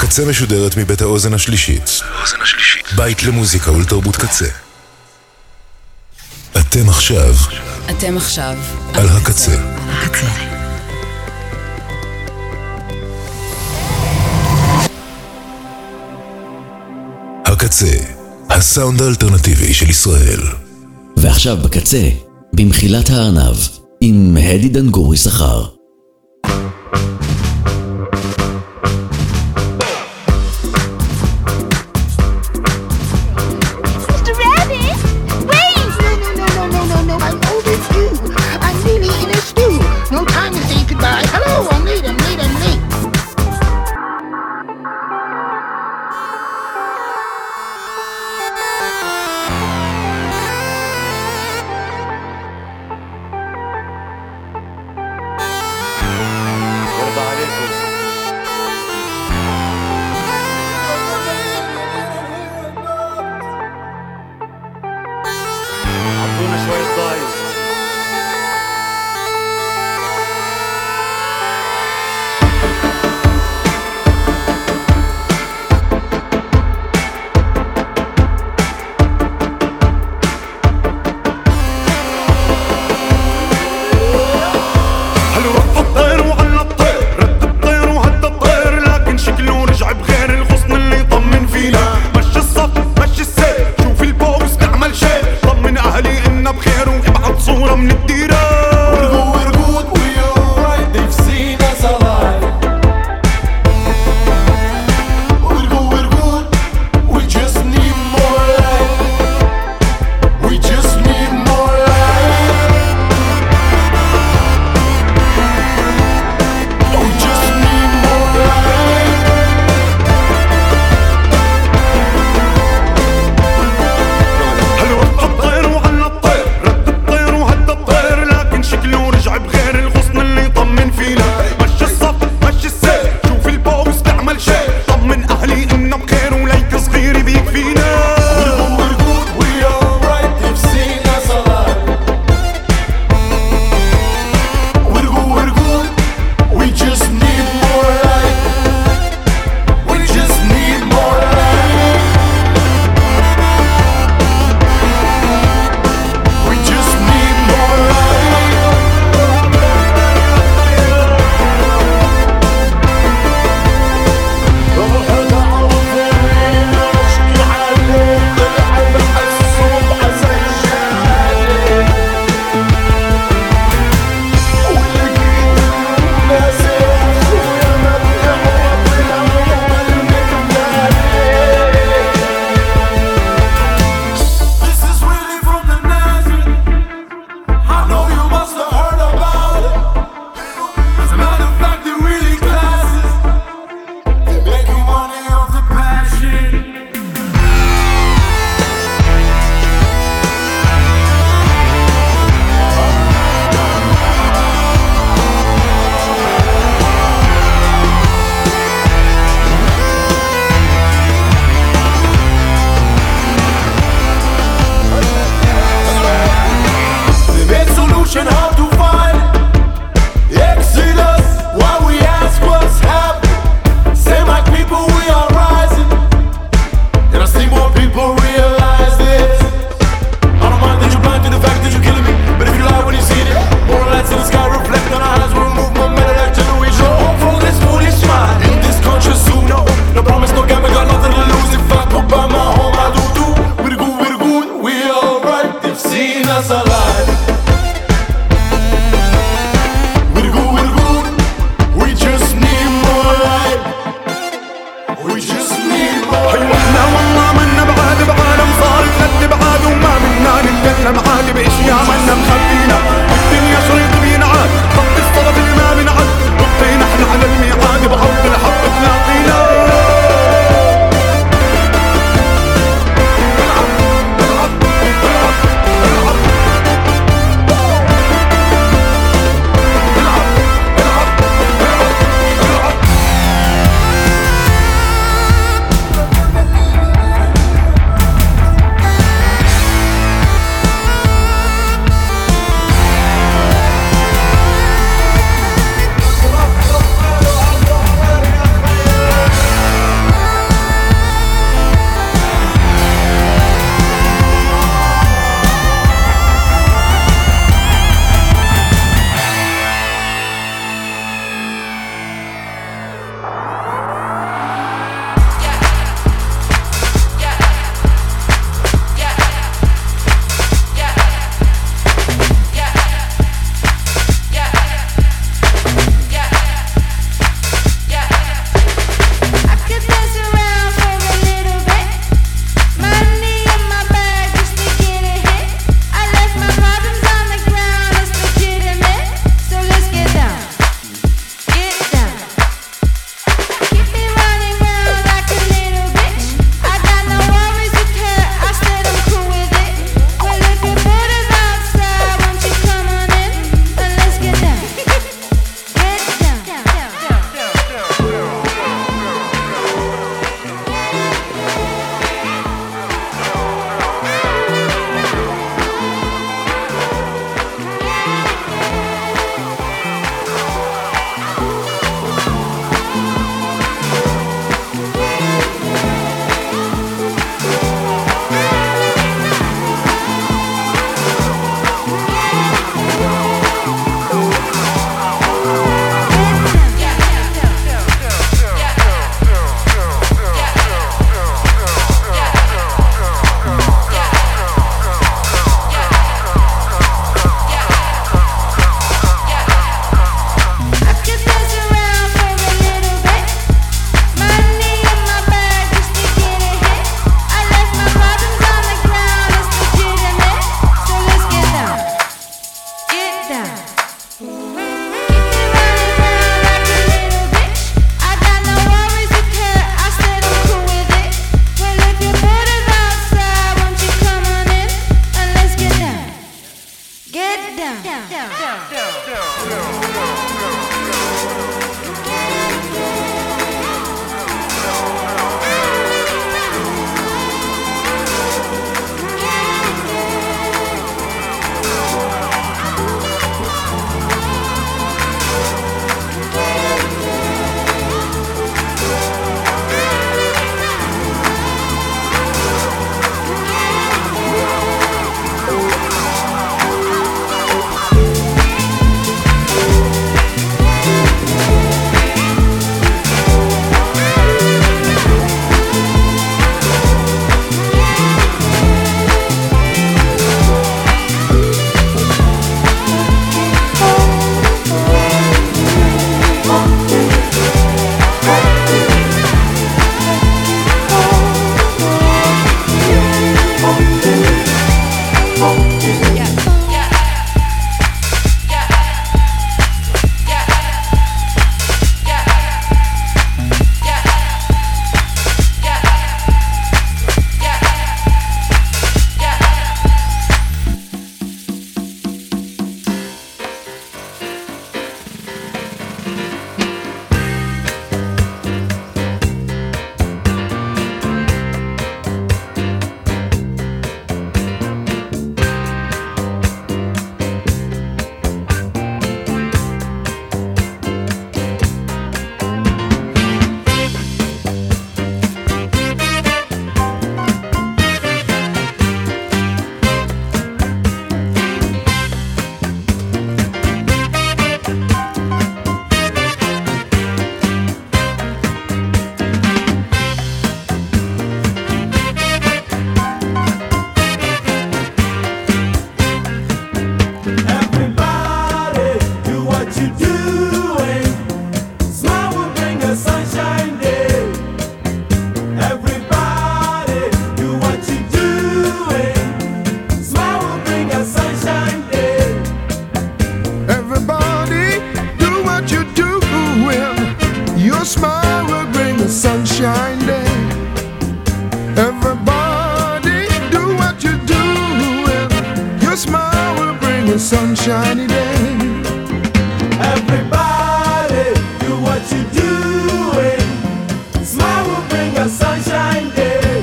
הקצה משודרת מבית האוזן השלישית. בית למוזיקה ולתרבות קצה. אתם עכשיו על הקצה. הקצה, הסאונד האלטרנטיבי של ישראל. ועכשיו בקצה, במחילת הארנב, עם הדי דנגורי שכר. Your smile will bring a sunshine day. Everybody do what you're doing. Your smile will bring a sunshiny day. Everybody do what you're doing. Smile will bring a sunshine day.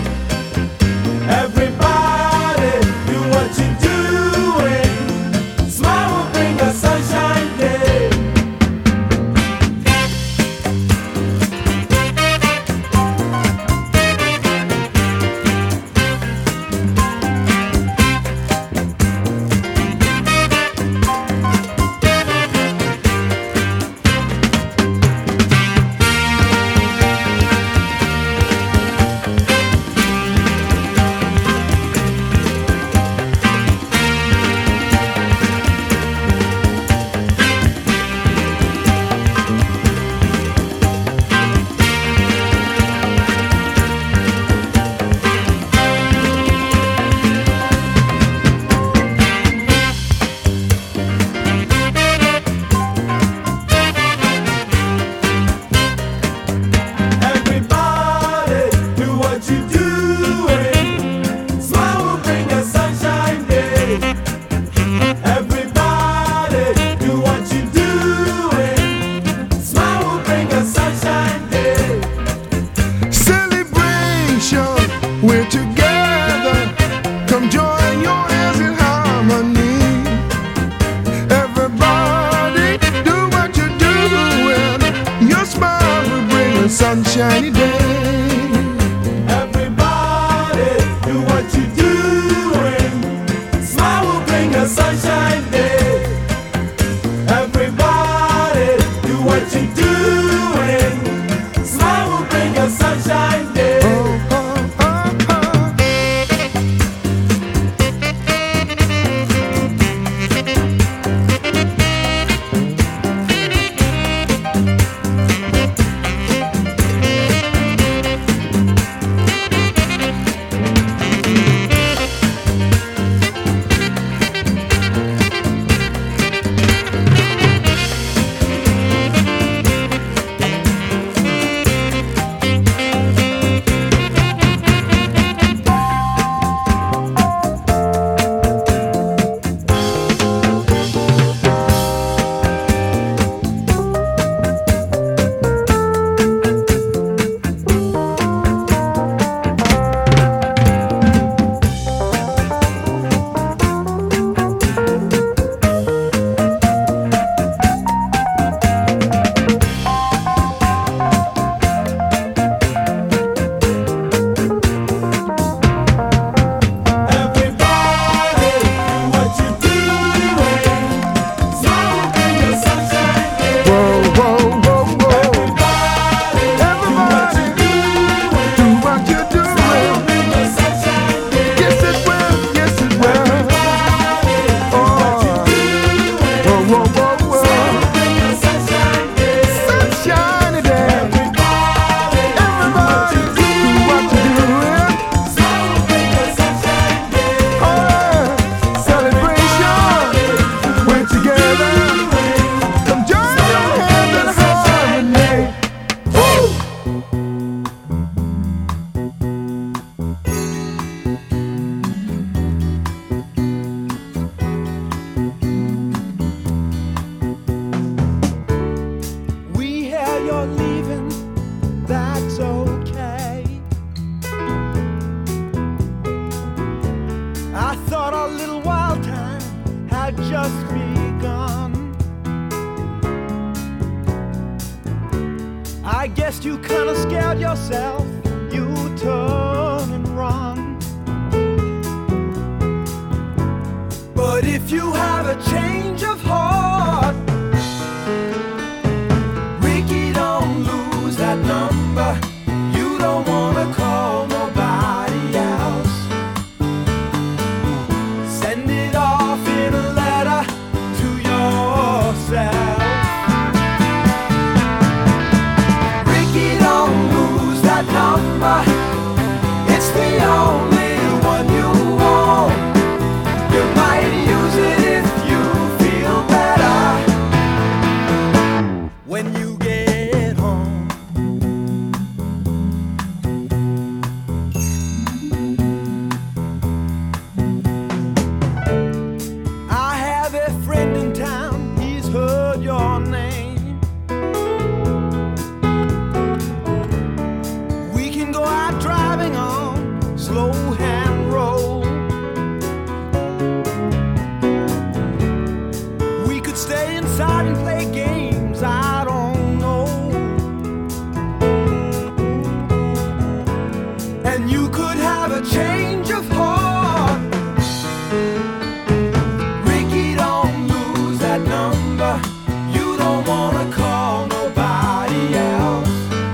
Everybody do what you're doing. Smile will bring a sunshine day. We're together, come join your hands in harmony. Everybody do what you're doing. Your smile will bring a sunshiny day. Everybody do what you're doing. Smile will bring a sunshine day. Everybody do what you're doing. Smile will bring a sunshine day. Just begun. I guess you kinda scared yourself. You turn and run. But if you have a change of heart, Ricky, don't lose that number. You don't wanna call nobody else. Send it off in a letter to yourself. Ricky, don't lose that number. It's the only one you want. You might use it if you feel better when you get home. you could have a change of heart. Ricky, don't lose that number. You don't wanna call nobody else.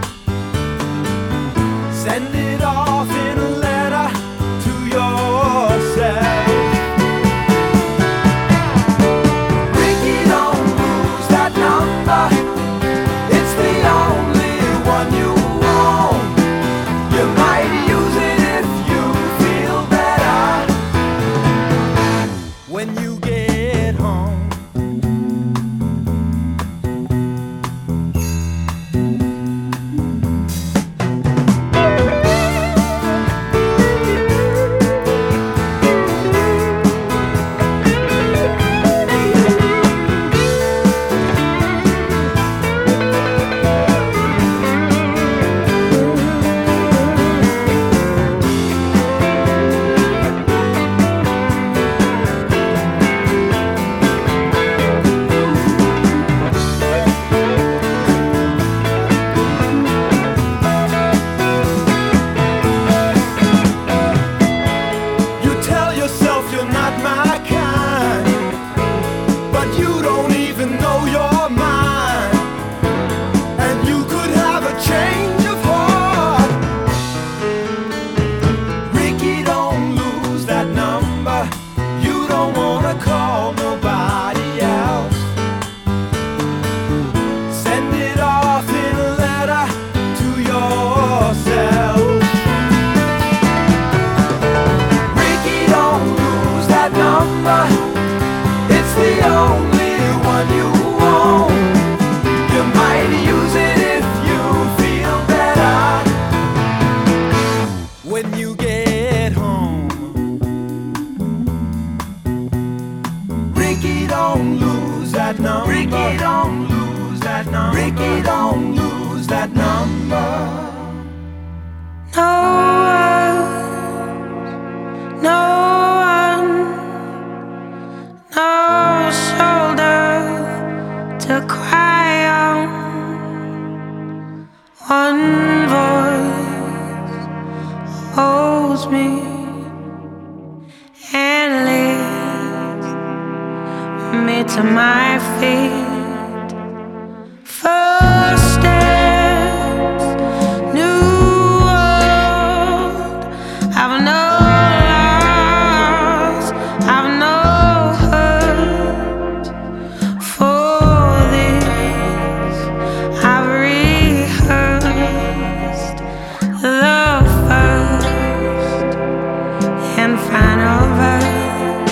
Send it off in a letter to yourself. Ricky, don't lose that number. It's the only one you want. You might use it if you feel better when you get home. You tell yourself you're not my kind, but you don't even know your mind. And you could have a change of heart. Ricky, don't lose that number. You don't wanna call nobody else. Send it off in a letter to yourself. Ricky, don't lose that number. It's the only one you want. You might use it if you feel better when you get home. Ricky, don't lose that number. Ricky, don't lose that number. Ricky, don't lose that number. No one, no shoulder to cry on. One voice holds me and lifts me to my feet. First steps, new world. I've no loss, I've no hurt. For this, I've rehearsed the first and final verse.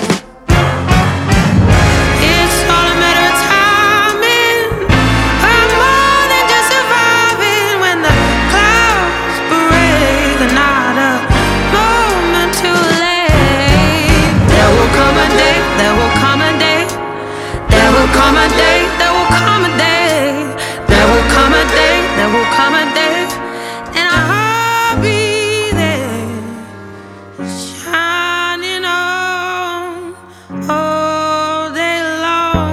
It's all a matter of timing. I'm more than just surviving when the clouds break. Not a moment too late. There will come a day, there will come a day. There will come a day, there will come a day. There will come a day, there will come a day. And I'll be there, shining on all day long.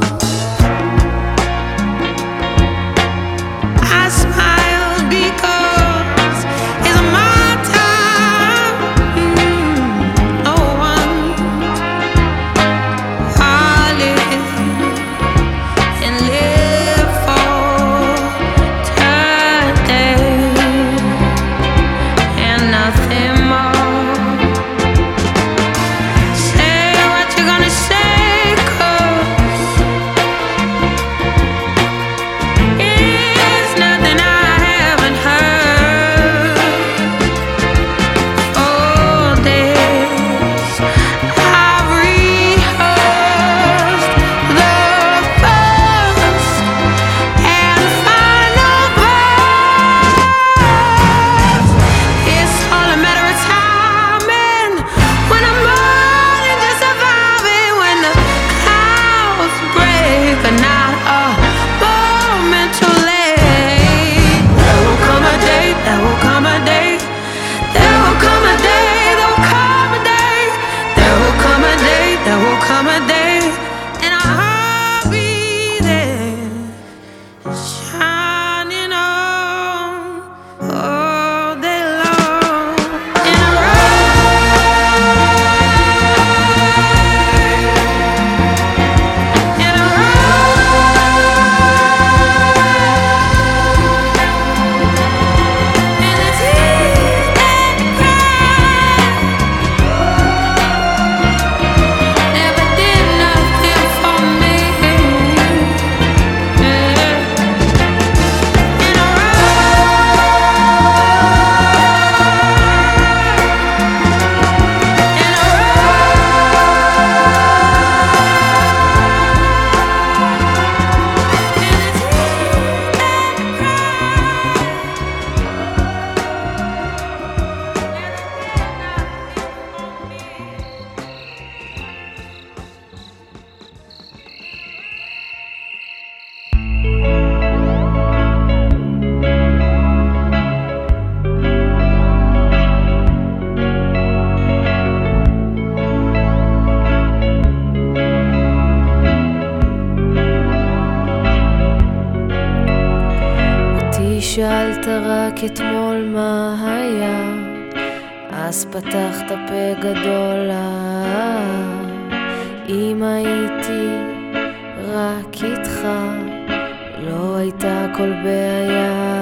I smile because it's my time. No one, I live and live for today. שאלת רק אתמול מה היה, אז פתחת פה גדול. אם הייתי רק איתך לא הייתה כל בעיה.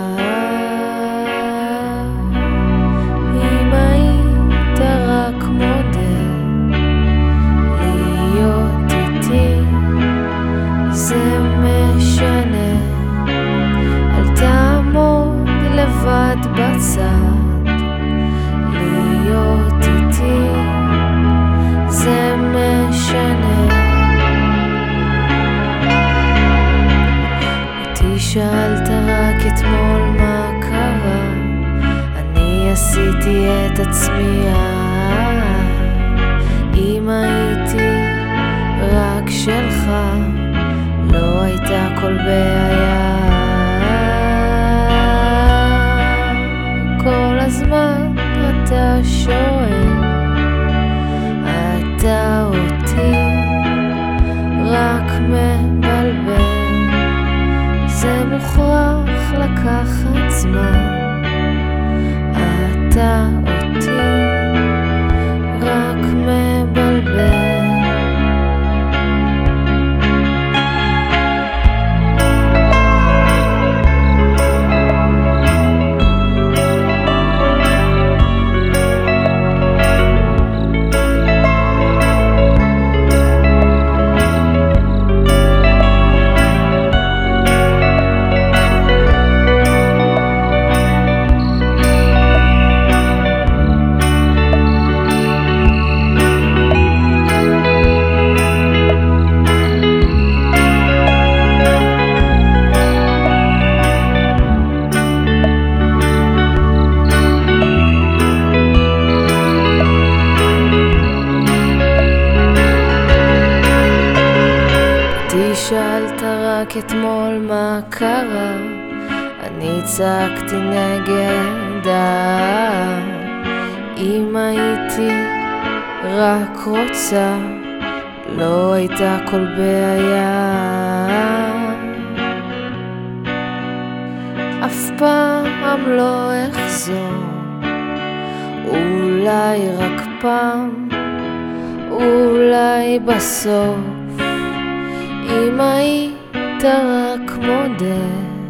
אם היית רק מודה להיות איתי זה משנה. אל תעמוד לבד בצד, להיות איתי זה משנה. אותי שאלת רק אתמול מה קרה, אני עשיתי את עצמי. אם הייתי רק שלך לא הייתה כל בעיה. כל הזמן אתה שואל, אתה אותי רק מבלבל. זה מוכרח לקחת זמן, אתה אותי רק מבלבל. שאלת רק אתמול מה קרה, אני צעקתי נגדה. אם הייתי רק רוצה לא הייתה כל בעיה. אף פעם לא אחזור, אולי רק פעם, אולי בסוף. אם היית רק מודה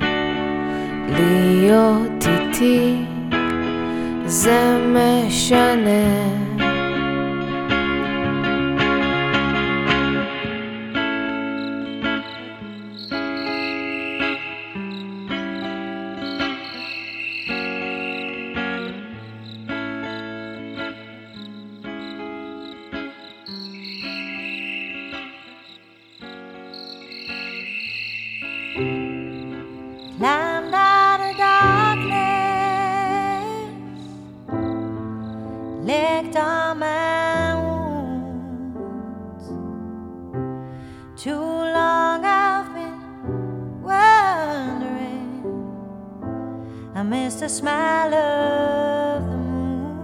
להיות איתי זה משנה. Climbed out of darkness, licked on my wounds. Too long I've been wondering, I miss the smile of the moon.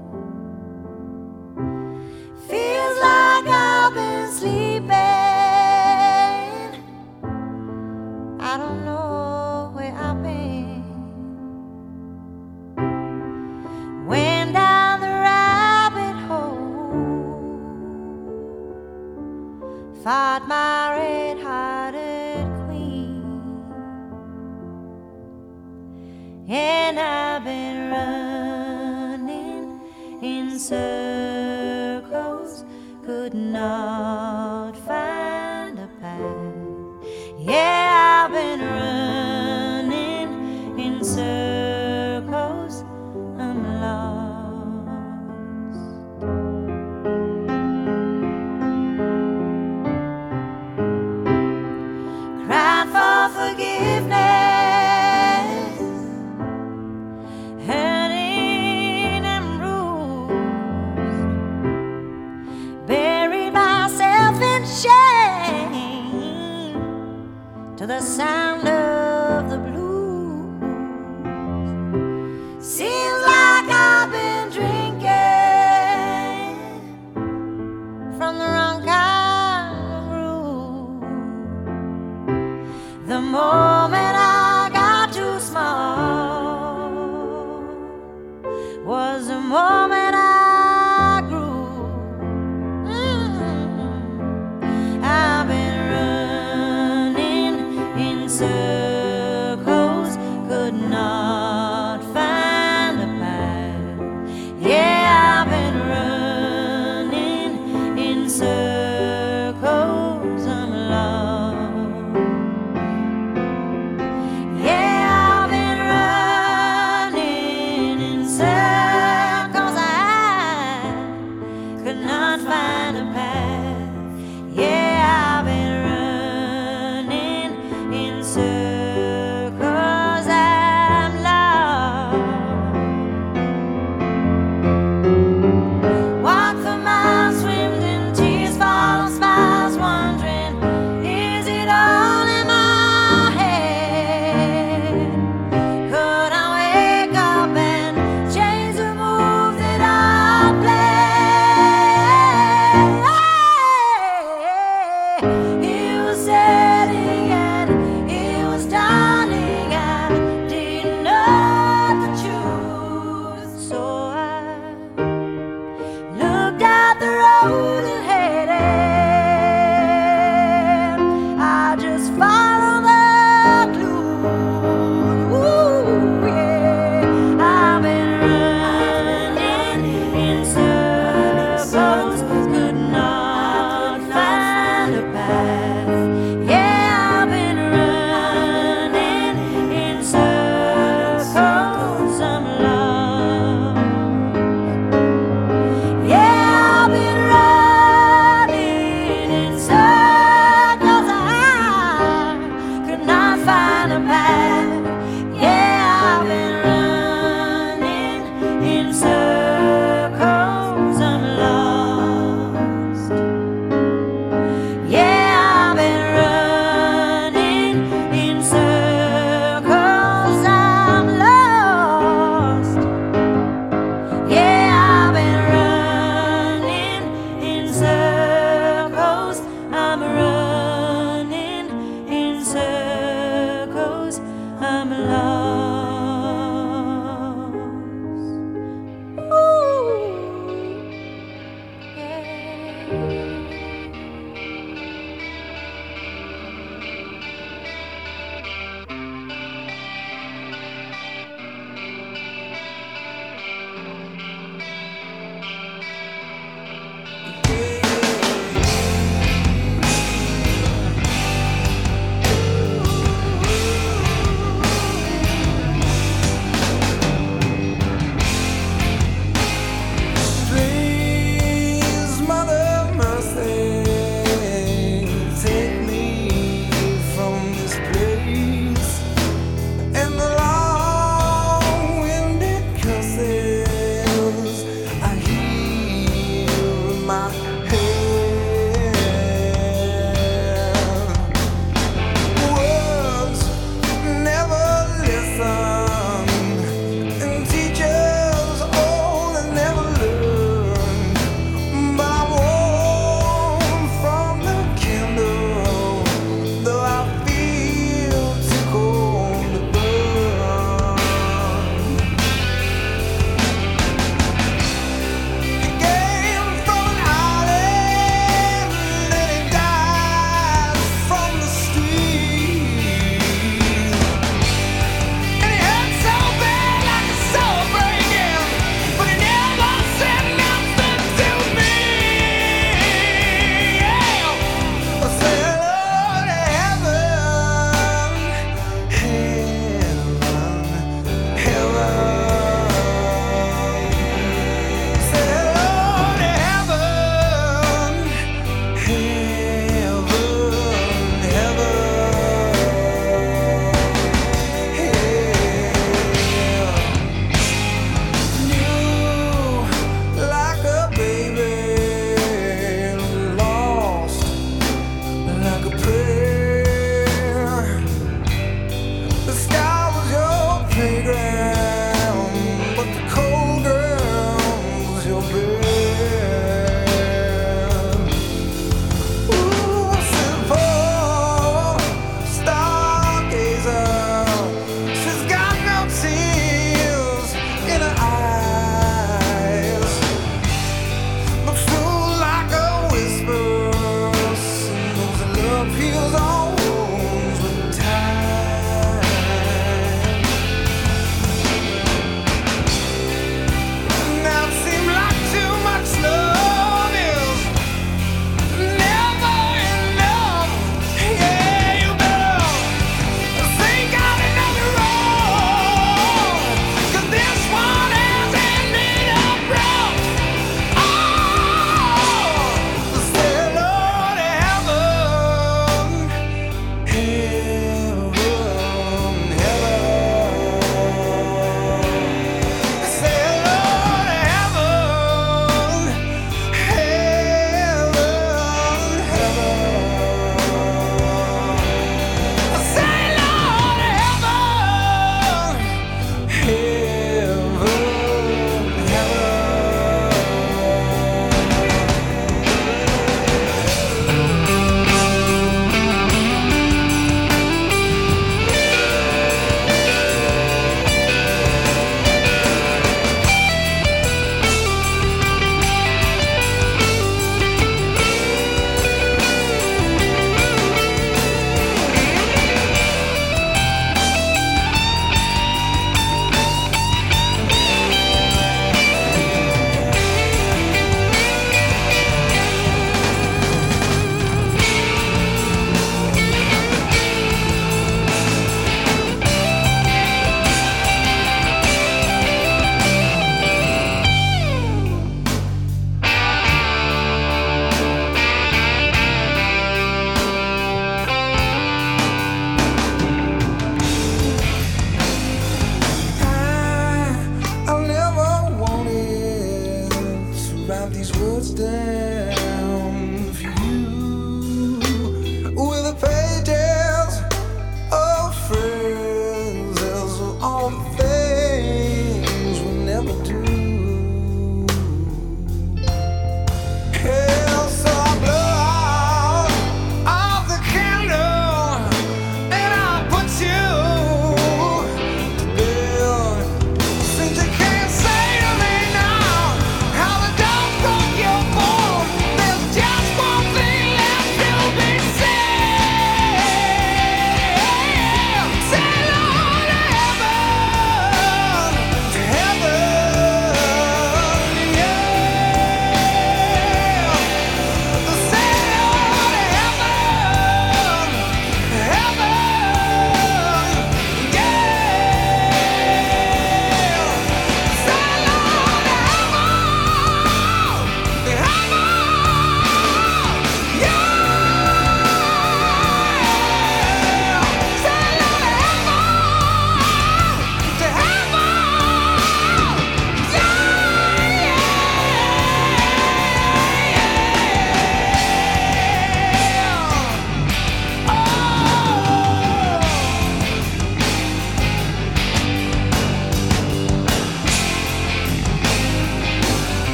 Feels like I've been sleeping, I don't know where I've been. Went down the rabbit hole, fought my red-hearted queen, and I've been running in circles, could not find a path. Yeah, I've been running in circles, I'm lost. Cried for forgiveness, hurting and bruised, buried myself in shame to the sound of the blues. Seems like I've been drinking from the wrong kind of brew. The moment I got too small, not find a path. Yeah, I've been running in circles of love. Yeah, I've been running in circles. I could not find a path. Yeah, I've been running in circles. I'm lost.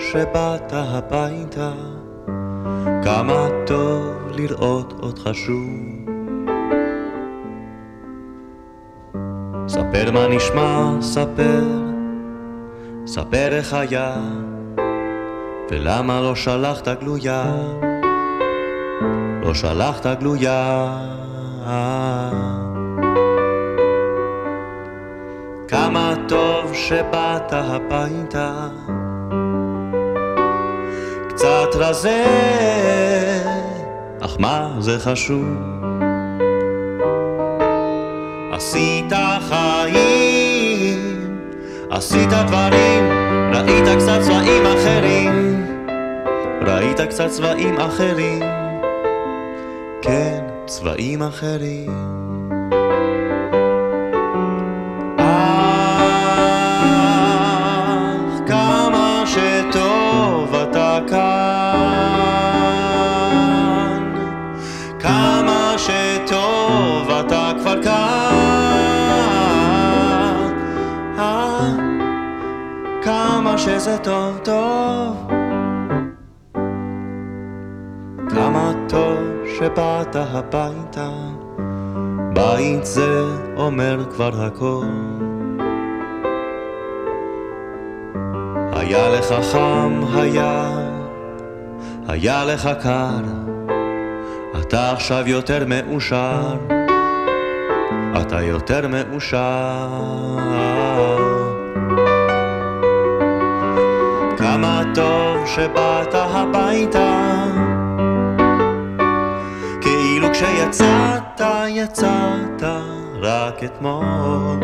שבאת הביתה, כמה טוב לראות אותך שוב. ספר מה נשמע, ספר איך היה, ולמה לא שלחת גלויה, לא שלחת גלויה. כמה טוב שבאת הביתה, קצת רזה, אך מה זה חשוב? עשית חיים, עשית דברים, ראית קצת צבעים אחרים, ראית קצת צבעים אחרים, כן, צבעים אחרים. אך כמה שטוב אתה כאן, כמה שטוב אתה כבר כאן, כמה שזה טוב טוב, כמה טוב שבאת הביתה, בית זה אומר כבר הכל. היה לך חם, היה לך קר, אתה עכשיו יותר מאושר, אתה יותר מאושר. כמה טוב שבאת הביתה, כאילו כשיצאת, יצאת רק אתמול.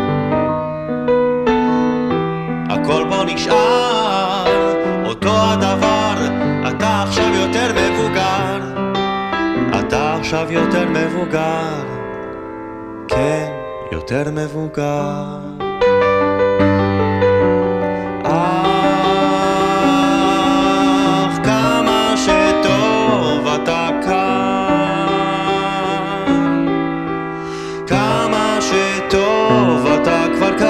הכל בו נשאר אותו הדבר, אתה עכשיו יותר מבוגר, אתה עכשיו יותר מבוגר, כן, יותר מבוגר. אך כמה שטוב אתה כאן, כמה שטוב אתה כבר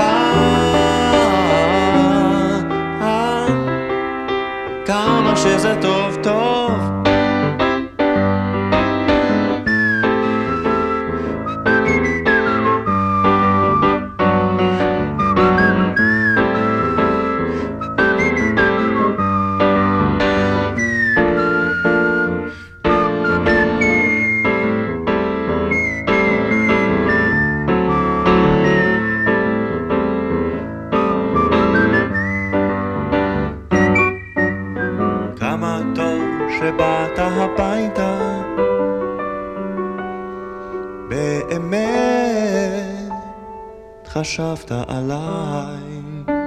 כאן, כמה שזה טוב טוב. שבאת הביתה, באמת חשבת עליי,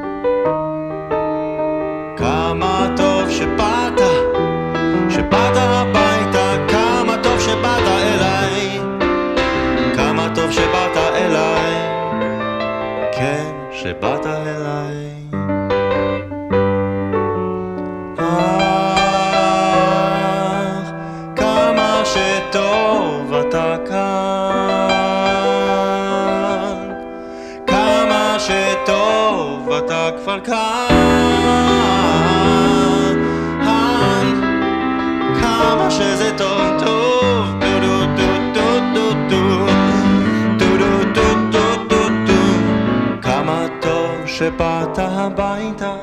כמה טוב שבאת הביתה, כמה טוב שבאת אליי, כמה טוב שבאת אליי, כן, שבאת אליי. טוב אתה כאן, כמה שטוב אתה כבר כאן, כמה שזה טוב טוב, דו דו דו דו דו דו דו דו דו דו, כמה טוב שבאת הביתה.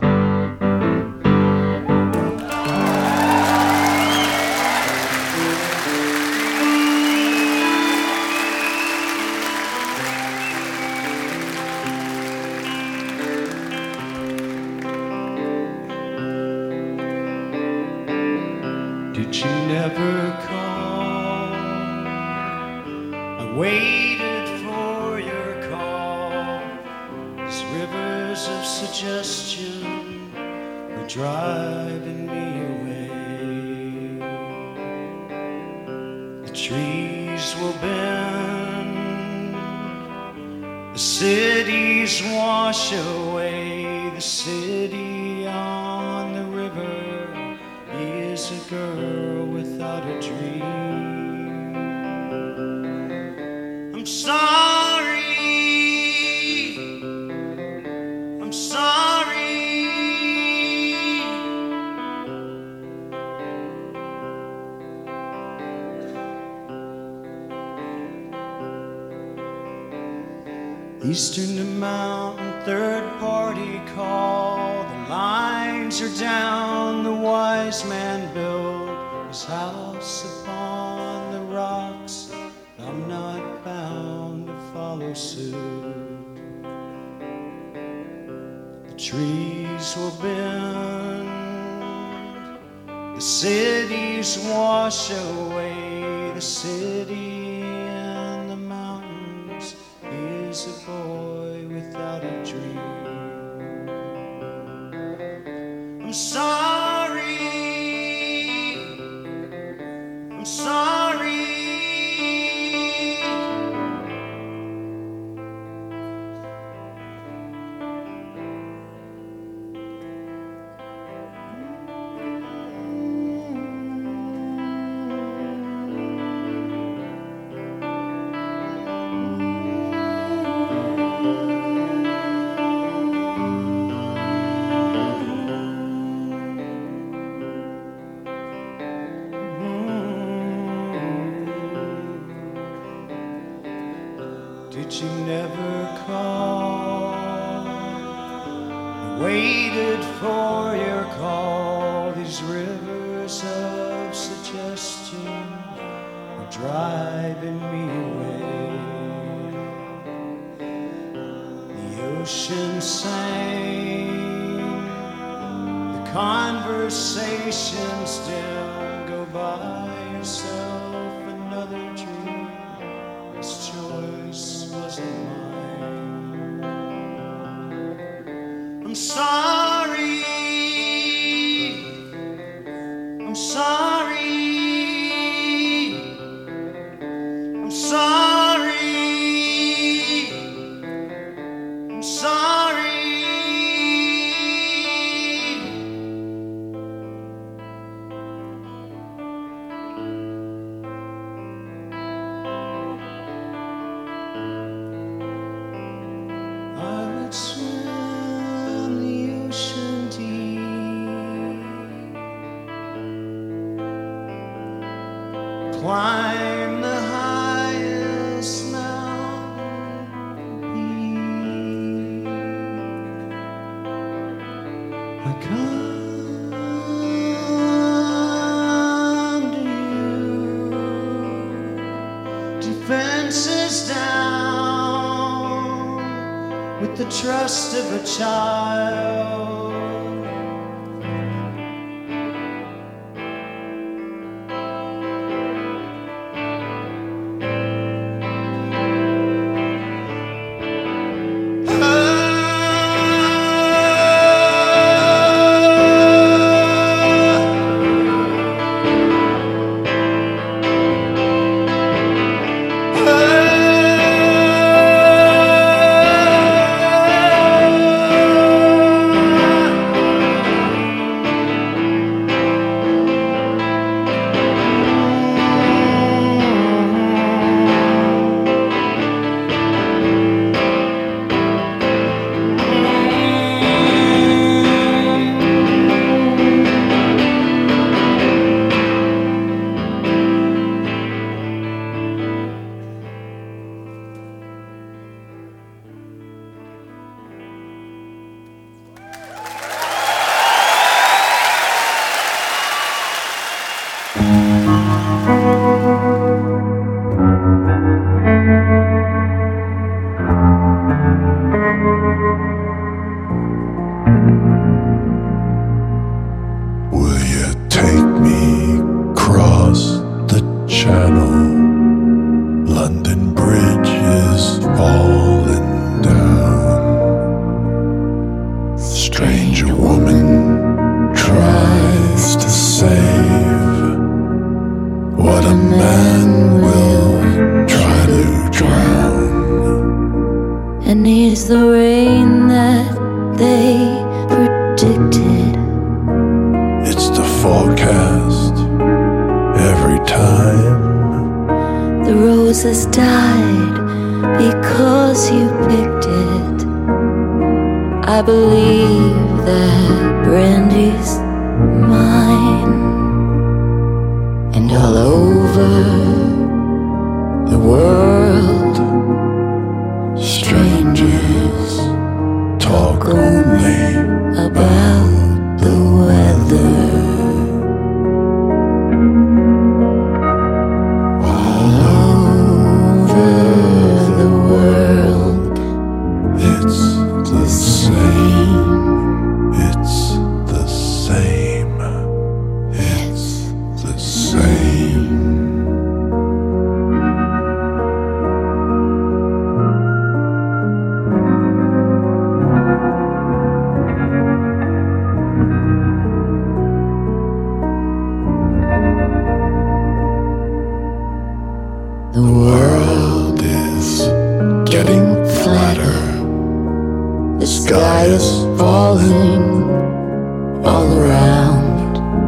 Did you never call? I waited for your call. These rivers of suggestion were driving me away. The trees will bend, the cities wash away. The city on the river is a girl without a dream. I'm sorry, I'm sorry, Eastern to Mountain, third party call. The lines are down, the wise man built his house upon the rocks. I'm not bound to follow suit. The trees will bend, the cities wash away. The city and the mountains is a boy without a dream. I'm sorry, I'm sorry. Did you never call? I waited for your call. These rivers of suggestion are driving me away. The ocean sang, the conversation still. Go buy yourself another dream. This choice wasn't mine. I'm sorry, I'm sorry, I'm sorry, I'm sorry. Swim the ocean deep, climb the highest mountain peak. I come to you, defenses down, with the trust of a child. Stranger The world is getting flatter. The sky is falling all around,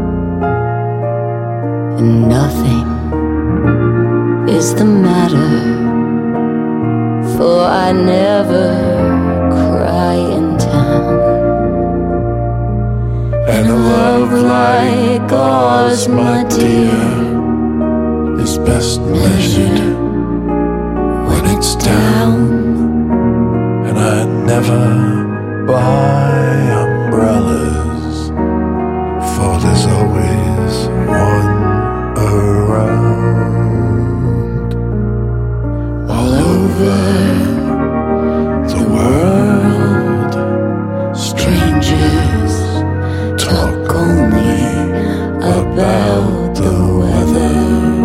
and nothing is the matter, for I never cry in town. And a love like ours, my dear, is best measured when it's down. And I never buy umbrellas, for there's always one around. All over the world, strangers talk only about the weather.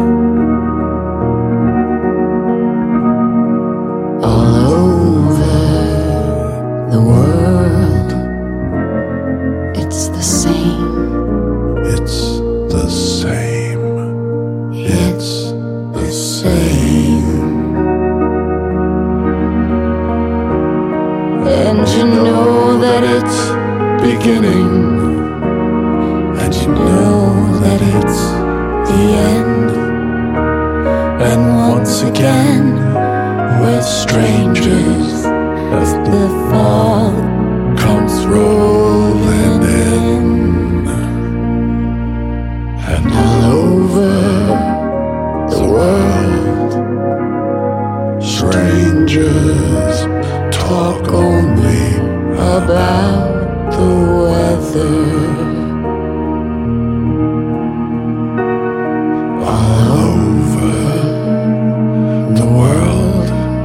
All over the world, it's the same. It's the same. It's the same. And you know that it's beginning, and you know that it's the end. And once again, we're strangers as the fog comes rolling in. And all over the world, strangers talk only about the weather. All over the world,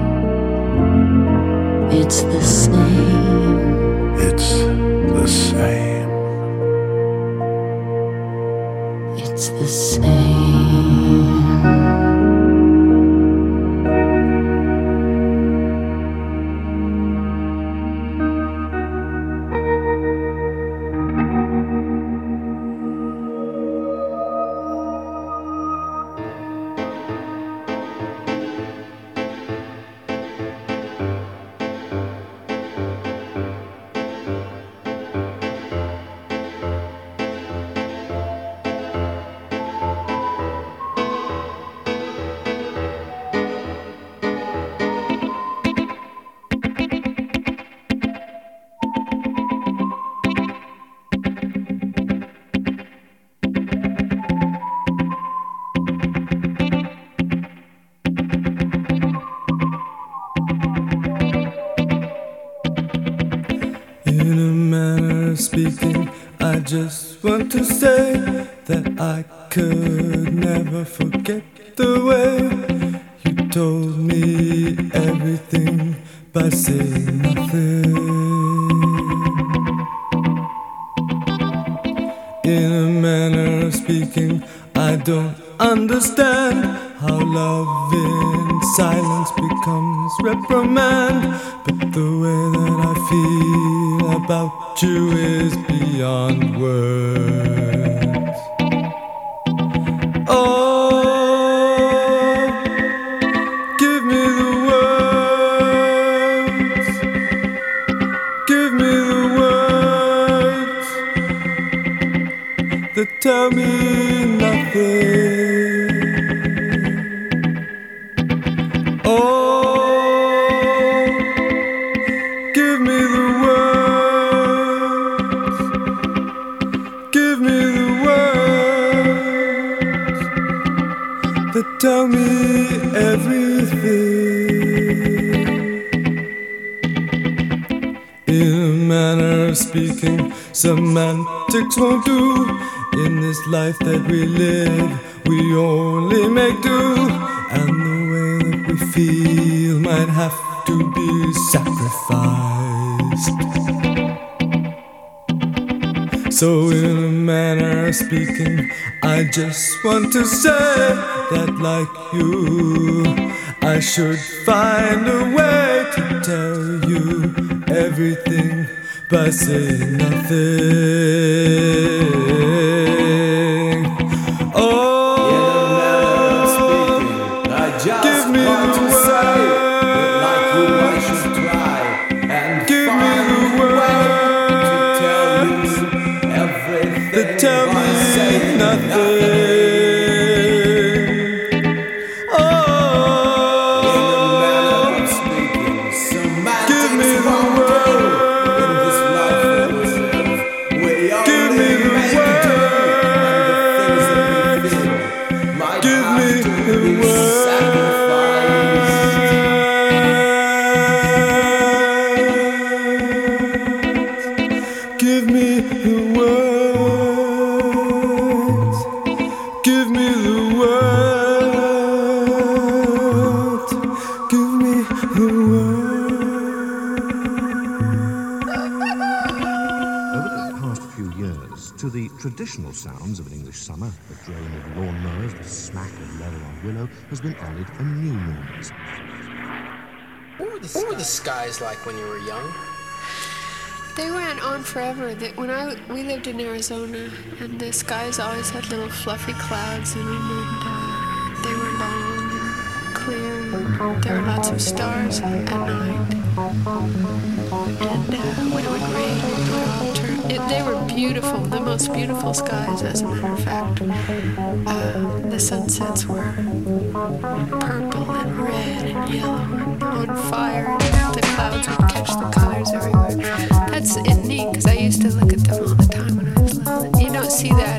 it's the same. It's the same. It's the same. Speaking, I just want to say that I could never forget the way you told me everything by saying nothing. In a manner of speaking, I don't understand how love in silence becomes reprimand, but the way that I feel about you is beyond words. Oh, give me the words, give me the words that tell me nothing. Oh, give me the words, give me the words that tell me everything. In a manner of speaking, semantics won't do. In this life that we live, we only make do, and the way that we feel might have to be sacrificed. So in a manner of speaking, I just want to say that like you, I should find a way to tell you everything by saying nothing. Oh, in a manner of speaking, I just traditional sounds of an English summer, the drone of lawnmowers, the smack of leather on willow, has been added a new meaning. What were the skies like when you were young? They went on forever. We lived in Arizona, and the skies always had little fluffy clouds in them, and they were long and clear. And there were lots of stars at night. And when it would rain, they were beautiful, the most beautiful skies, as a matter of fact. The sunsets were purple and red and yellow and on fire, and the clouds would catch the colors everywhere. That's neat, because I used to look at them all the time when I was little. You don't see that.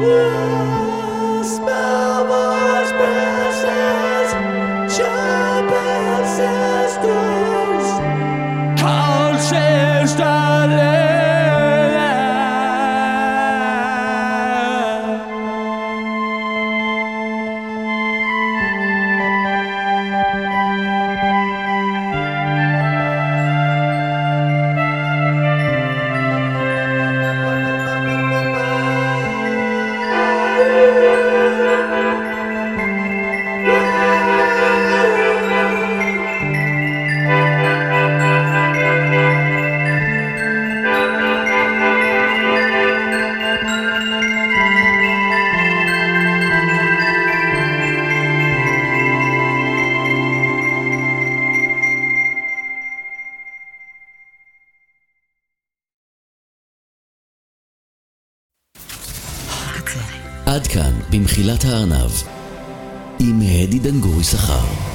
עד כאן במחילת הארנב עם הדי דנגורי שכר.